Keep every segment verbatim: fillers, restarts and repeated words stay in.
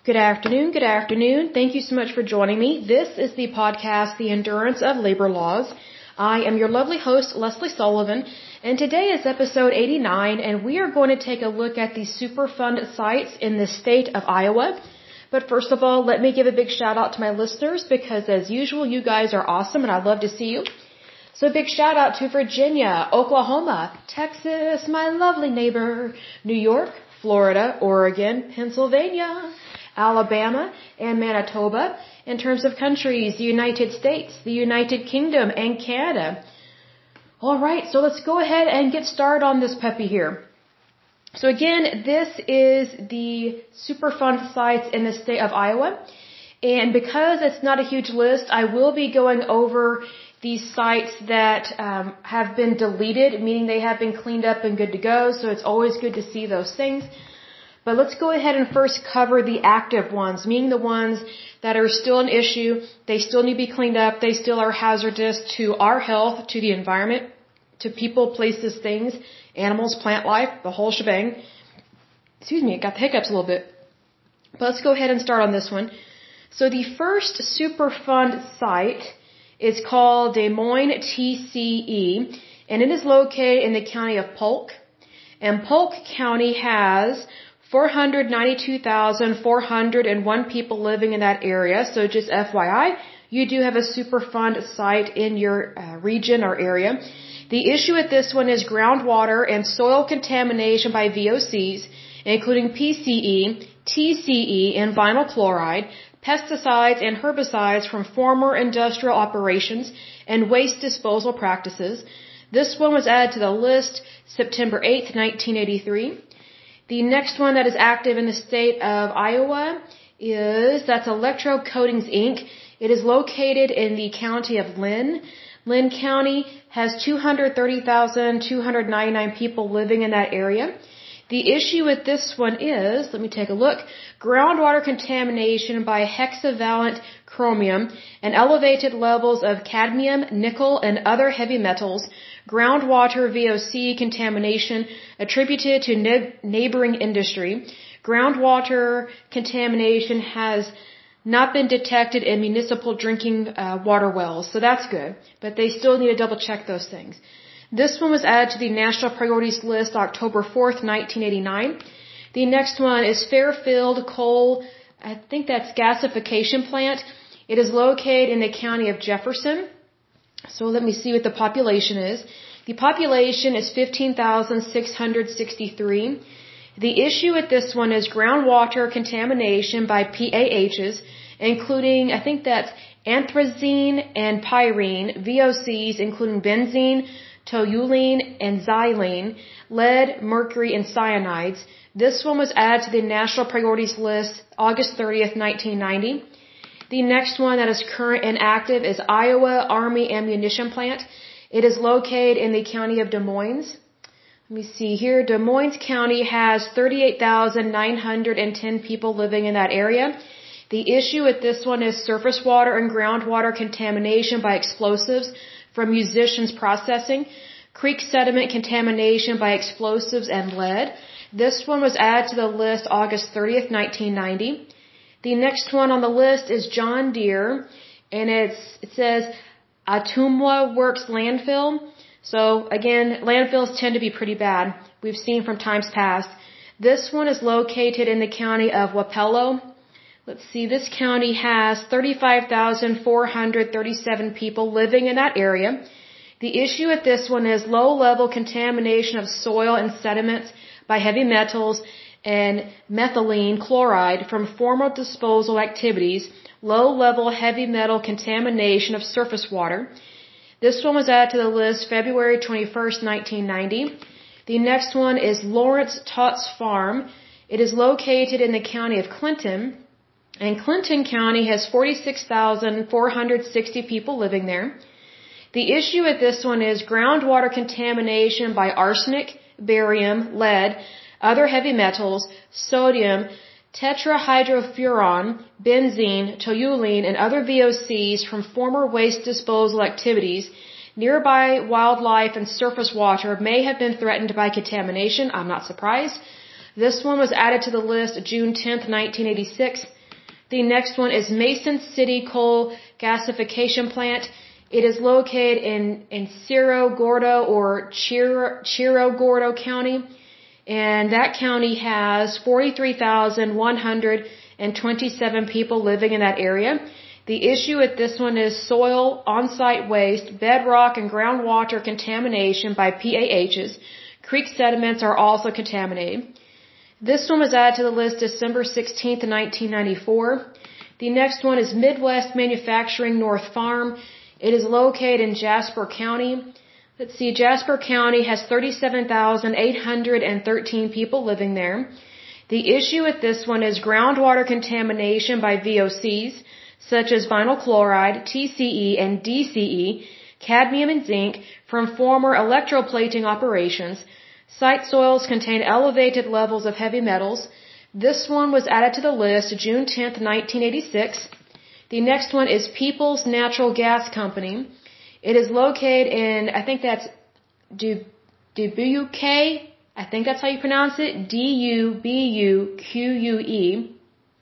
Good afternoon, good afternoon. Thank you so much for joining me. This is the podcast, The Endurance of Labor Laws. I am your lovely host, Leslie Sullivan, and today is episode eighty-nine, and we are going to take a look at the Superfund sites in the state of Iowa. But first of all, let me give a big shout out to my listeners because as usual, you guys are awesome and I'd love to see you. So big shout out to Virginia, Oklahoma, Texas, my lovely neighbor, New York, Florida, Oregon, Pennsylvania, Alabama, and Manitoba. In terms of countries, the United States, the United Kingdom, and Canada. Alright, so let's go ahead and get started on this puppy here. So again, this is the Superfund sites in the state of Iowa. And because it's not a huge list, I will be going over these sites that um, have been deleted, meaning they have been cleaned up and good to go. So it's always good to see those things. But let's go ahead and first cover the active ones, meaning the ones that are still an issue. They still need to be cleaned up. They still are hazardous to our health, to the environment, to people, places, things, animals, plant life, the whole shebang. Excuse me, I got the hiccups a little bit. But let's go ahead and start on this one. So the first Superfund site is called Des Moines T C E, and it is located in the county of Polk. And Polk County has four hundred ninety-two thousand four hundred one people living in that area. So just F Y I, you do have a Superfund site in your uh, region or area. The issue with this one is groundwater and soil contamination by V O Cs, including P C E, T C E, and vinyl chloride, pesticides and herbicides from former industrial operations, and waste disposal practices. This one was added to the list September eighth, nineteen eighty-three. The next one that is active in the state of Iowa is, that's Electro Coatings, Incorporated. It is located in the county of Lynn. Lynn County has two hundred thirty thousand two hundred ninety-nine people living in that area. The issue with this one is, let me take a look, groundwater contamination by hexavalent chromium and elevated levels of cadmium, nickel, and other heavy metals, groundwater V O C contamination attributed to ne- neighboring industry. Groundwater contamination has not been detected in municipal drinking uh, water wells, so that's good, but they still need to double check those things. This one was added to the National Priorities List October fourth, nineteen eighty-nine. The next one is Fairfield Coal, I think that's gasification plant. It is located in the county of Jefferson. So let me see what the population is. The population is fifteen thousand six hundred sixty-three. The issue with this one is groundwater contamination by P A Hs, including, I think that's anthracene and pyrene, V O Cs, including benzene, toluene, and xylene, lead, mercury, and cyanides. This one was added to the National Priorities List August thirtieth, nineteen ninety. The next one that is current and active is Iowa Army Ammunition Plant. It is located in the county of Des Moines. Let me see here. Des Moines County has thirty-eight thousand nine hundred ten people living in that area. The issue with this one is surface water and groundwater contamination by explosives from musicians processing, creek sediment contamination by explosives and lead. This one was added to the list August thirtieth, nineteen ninety. The next one on the list is John Deere, and it's, it says Ottumwa Works Landfill. So again, landfills tend to be pretty bad. We've seen from times past. This one is located in the county of Wapello. Let's see, this county has thirty-five thousand four hundred thirty-seven people living in that area. The issue with this one is low-level contamination of soil and sediments by heavy metals and methylene chloride from former disposal activities, low-level heavy metal contamination of surface water. This one was added to the list February twenty-first, nineteen ninety. The next one is Lawrence Tots Farm. It is located in the county of Clinton, and Clinton County has forty-six thousand four hundred sixty people living there. The issue with this one is groundwater contamination by arsenic, barium, lead, other heavy metals, sodium, tetrahydrofuran, benzene, toluene, and other V O Cs from former waste disposal activities. Nearby wildlife and surface water may have been threatened by contamination. I'm not surprised. This one was added to the list June tenth, nineteen eighty-six. The next one is Mason City Coal Gasification Plant. It is located in, in Cerro Gordo or Chiro, Chiro Gordo County. And that county has forty-three thousand one hundred twenty-seven people living in that area. The issue with this one is soil, on-site waste, bedrock and groundwater contamination by P A Hs. Creek sediments are also contaminated. This one was added to the list December sixteenth, nineteen ninety-four. The next one is Midwest Manufacturing North Farm. It is located in Jasper County. Let's see, Jasper County has thirty-seven thousand eight hundred thirteen people living there. The issue with this one is groundwater contamination by V O Cs, such as vinyl chloride, T C E, and D C E, cadmium and zinc, from former electroplating operations. Site soils contain elevated levels of heavy metals. This one was added to the list June tenth, nineteen eighty-six. The next one is Peoples Natural Gas Company. It is located in, I think that's Dubuque, I think that's how you pronounce it, D U B U Q U E.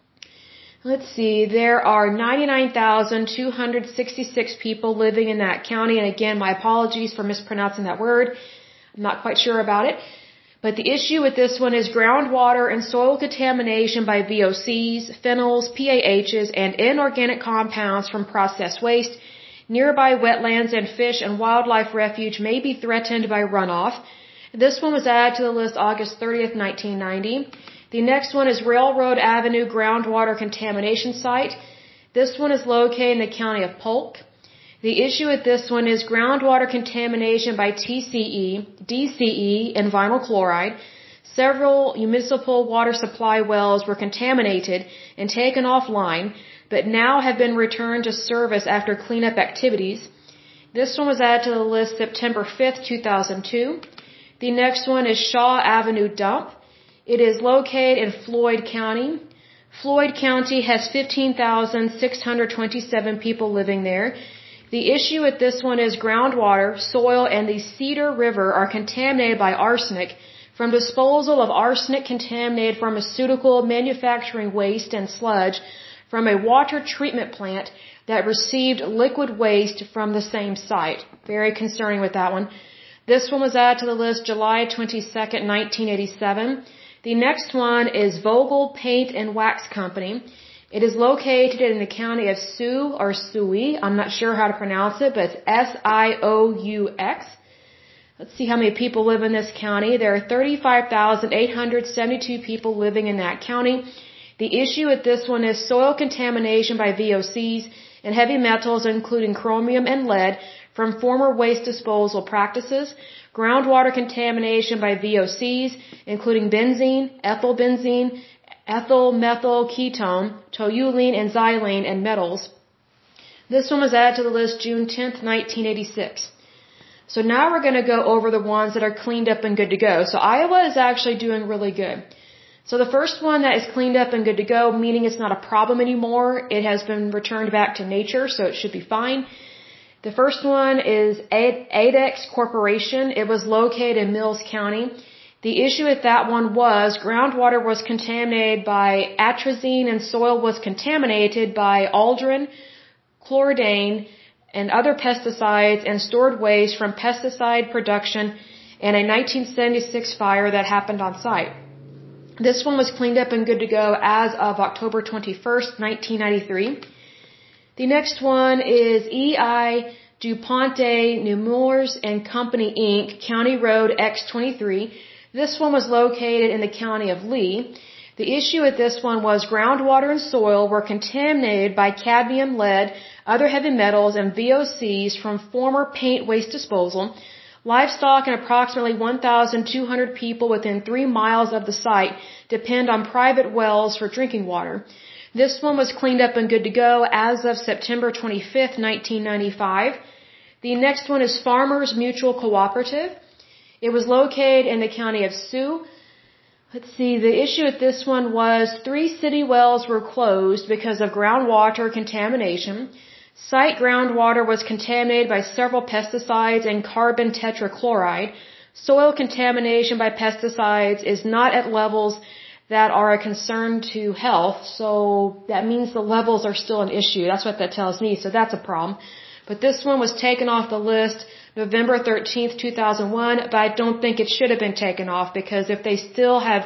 Let's see, there are ninety-nine thousand two hundred sixty-six people living in that county, and again, my apologies for mispronouncing that word. I'm not quite sure about it. But the issue with this one is groundwater and soil contamination by V O Cs, phenols, P A Hs, and inorganic compounds from processed waste. Nearby wetlands and fish and wildlife refuge may be threatened by runoff. This one was added to the list August thirtieth, nineteen ninety. The next one is Railroad Avenue Groundwater Contamination Site. This one is located in the county of Polk. The issue with this one is groundwater contamination by T C E, D C E, and vinyl chloride. Several municipal water supply wells were contaminated and taken offline, but now have been returned to service after cleanup activities. This one was added to the list September fifth, two thousand two. The next one is Shaw Avenue Dump. It is located in Floyd County. Floyd County has fifteen thousand six hundred twenty-seven people living there. The issue with this one is groundwater, soil, and the Cedar River are contaminated by arsenic from disposal of arsenic-contaminated pharmaceutical manufacturing waste and sludge from a water treatment plant that received liquid waste from the same site. Very concerning with that one. This one was added to the list July twenty-second, nineteen eighty-seven. The next one is Vogel Paint and Wax Company. It is located in the county of Sioux or Sioux. I'm not sure how to pronounce it, but it's S I O U X. Let's see how many people live in this county. There are thirty-five thousand eight hundred seventy-two people living in that county. The issue with this one is soil contamination by V O Cs and heavy metals, including chromium and lead, from former waste disposal practices. Groundwater contamination by V O Cs, including benzene, ethylbenzene, ethyl methyl ketone, toluene, and xylene, and metals. This one was added to the list June tenth, nineteen eighty-six. So now we're going to go over the ones that are cleaned up and good to go. So Iowa is actually doing really good. So the first one that is cleaned up and good to go, meaning it's not a problem anymore, it has been returned back to nature, so it should be fine. The first one is Adex Corporation. It was located in Mills County. The issue with that one was groundwater was contaminated by atrazine and soil was contaminated by aldrin, chloridane, and other pesticides and stored waste from pesticide production and a nineteen seventy-six fire that happened on site. This one was cleaned up and good to go as of October twenty-first, nineteen ninety-three. The next one is E I DuPonte Nemours and Company Incorporated, County Road X twenty-three. This one was located in the county of Lee. The issue with this one was groundwater and soil were contaminated by cadmium, lead, other heavy metals, and V O Cs from former paint waste disposal. Livestock and approximately one thousand two hundred people within three miles of the site depend on private wells for drinking water. This one was cleaned up and good to go as of September twenty-fifth, nineteen ninety-five. The next one is Farmers Mutual Cooperative. It was located in the county of Sioux. Let's see, the issue with this one was three city wells were closed because of groundwater contamination. Site groundwater was contaminated by several pesticides and carbon tetrachloride. Soil contamination by pesticides is not at levels that are a concern to health. So that means the levels are still an issue. That's what that tells me. So that's a problem. But this one was taken off the list November thirteenth, two thousand one, but I don't think it should have been taken off, because if they still have,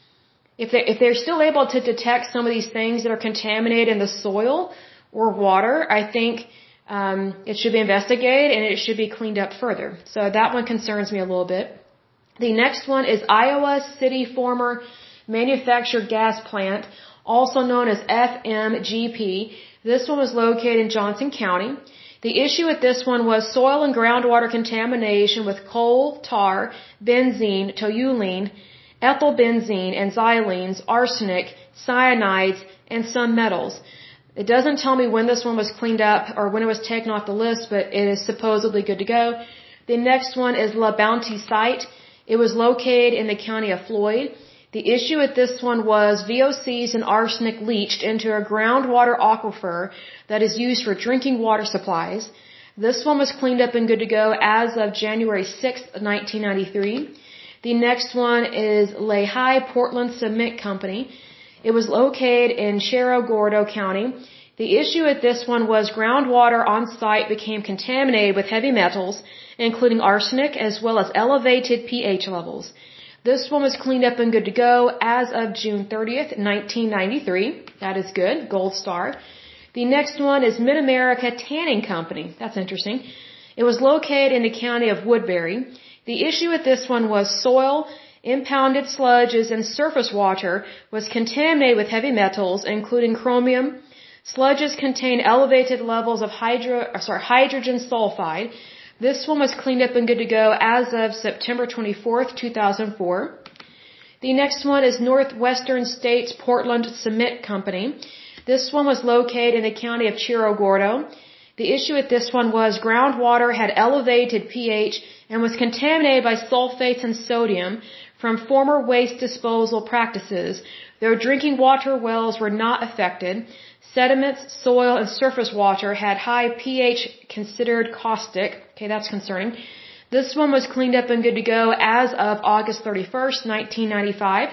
if they if they're still able to detect some of these things that are contaminated in the soil or water, I think um, it should be investigated and it should be cleaned up further. So that one concerns me a little bit. The next one is Iowa City Former Manufactured Gas Plant, also known as F M G P. This one was located in Johnson County. The issue with this one was soil and groundwater contamination with coal, tar, benzene, toluene, ethylbenzene, and xylenes, arsenic, cyanides, and some metals. It doesn't tell me when this one was cleaned up or when it was taken off the list, but it is supposedly good to go. The next one is La Bounty Site. It was located in the county of Floyd. The issue with this one was V O Cs and arsenic leached into a groundwater aquifer that is used for drinking water supplies. This one was cleaned up and good to go as of January sixth, nineteen ninety-three. The next one is Lehigh Portland Cement Company. It was located in Cerro Gordo County. The issue with this one was groundwater on site became contaminated with heavy metals, including arsenic, as well as elevated pH levels. This one was cleaned up and good to go as of June thirtieth, nineteen ninety-three. That is good. Gold star. The next one is Mid-America Tanning Company. That's interesting. It was located in the county of Woodbury. The issue with this one was soil, impounded sludges, and surface water was contaminated with heavy metals, including chromium. Sludges contain elevated levels of hydro, sorry, hydrogen sulfide. This one was cleaned up and good to go as of September twenty-fourth, two thousand four. The next one is Northwestern States Portland Cement Company. This one was located in the county of Cerro Gordo. The issue with this one was groundwater had elevated pH and was contaminated by sulfates and sodium from former waste disposal practices. Their drinking water wells were not affected. Sediments, soil, and surface water had high pH considered caustic. Okay, that's concerning. This one was cleaned up and good to go as of August thirty-first, nineteen ninety-five.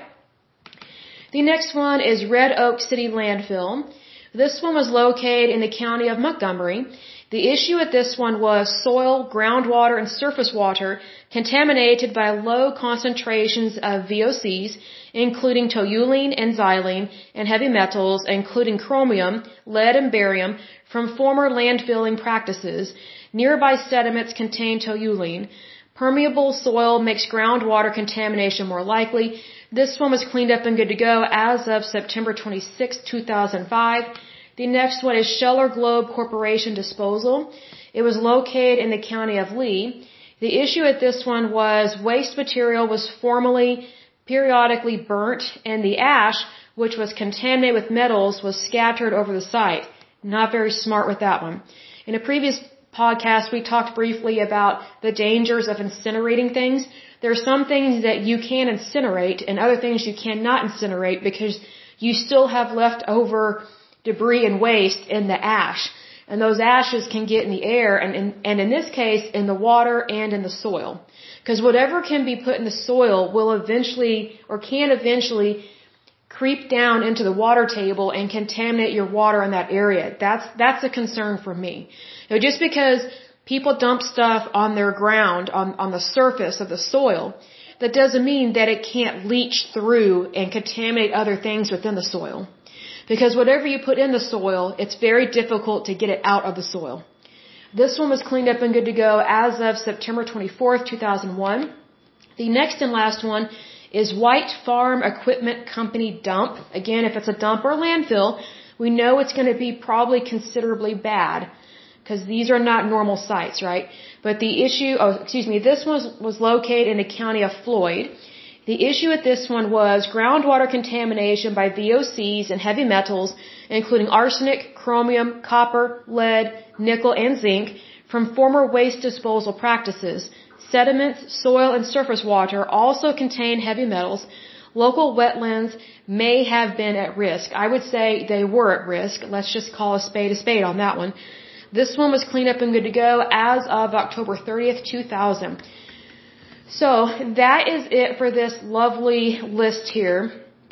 The next one is Red Oak City Landfill. This one was located in the county of Montgomery. The issue with this one was soil, groundwater, and surface water contaminated by low concentrations of V O Cs, including toluene and xylene, and heavy metals, including chromium, lead, and barium, from former landfilling practices. Nearby sediments contain toluene. Permeable soil makes groundwater contamination more likely. This one was cleaned up and good to go as of September twenty-sixth, two thousand five. The next one is Scheller Globe Corporation Disposal. It was located in the county of Lee. The issue with this one was waste material was formerly periodically burnt, and the ash, which was contaminated with metals, was scattered over the site. Not very smart with that one. In a previous podcast, we talked briefly about the dangers of incinerating things. There are some things that you can incinerate and other things you cannot incinerate because you still have leftover debris and waste in the ash. And those ashes can get in the air and in, and in this case, in the water and in the soil. Because whatever can be put in the soil will eventually, or can eventually, creep down into the water table and contaminate your water in that area. That's, that's a concern for me. You know, just because people dump stuff on their ground, on, on the surface of the soil, that doesn't mean that it can't leach through and contaminate other things within the soil. Because whatever you put in the soil, it's very difficult to get it out of the soil. This one was cleaned up and good to go as of September twenty-fourth, two thousand one. The next and last one is White Farm Equipment Company Dump. Again, if it's a dump or a landfill, we know it's going to be probably considerably bad because these are not normal sites, right? But the issue, oh, excuse me, this one was, was located in the county of Floyd. The issue with this one was groundwater contamination by V O Cs and heavy metals, including arsenic, chromium, copper, lead, nickel, and zinc, from former waste disposal practices. Sediments, soil, and surface water also contain heavy metals. Local wetlands may have been at risk. I would say they were at risk. Let's just call a spade a spade on that one. This one was cleaned up and good to go as of October thirtieth, two thousand. So that is it for this lovely list here.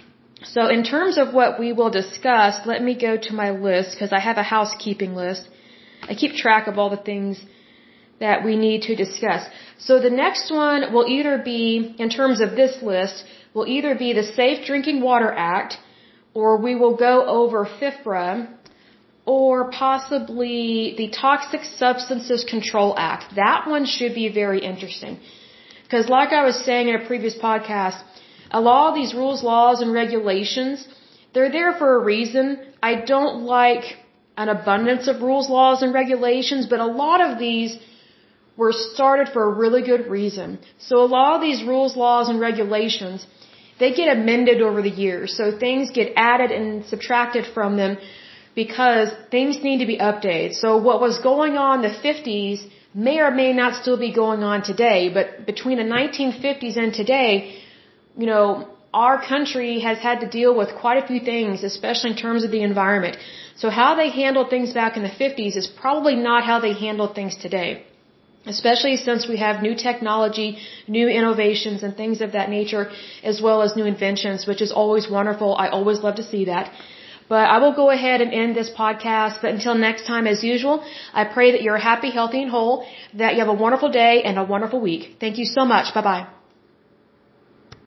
So in terms of what we will discuss, let me go to my list because I have a housekeeping list. I keep track of all the things that we need to discuss. So the next one will either be, in terms of this list, will either be the Safe Drinking Water Act, or we will go over FIFRA, or possibly the Toxic Substances Control Act. That one should be very interesting. Because like I was saying in a previous podcast, a lot of these rules, laws, and regulations, they're there for a reason. I don't like an abundance of rules, laws, and regulations, but a lot of these were started for a really good reason. So a lot of these rules, laws, and regulations, they get amended over the years. So things get added and subtracted from them because things need to be updated. So what was going on in the fifties may or may not still be going on today, but between the nineteen fifties and today, you know, our country has had to deal with quite a few things, especially in terms of the environment. So how they handled things back in the fifties is probably not how they handle things today. Especially since we have new technology, new innovations, and things of that nature, as well as new inventions, which is always wonderful. I always love to see that. But I will go ahead and end this podcast. But until next time, as usual, I pray that you're happy, healthy, and whole, that you have a wonderful day and a wonderful week. Thank you so much. Bye-bye.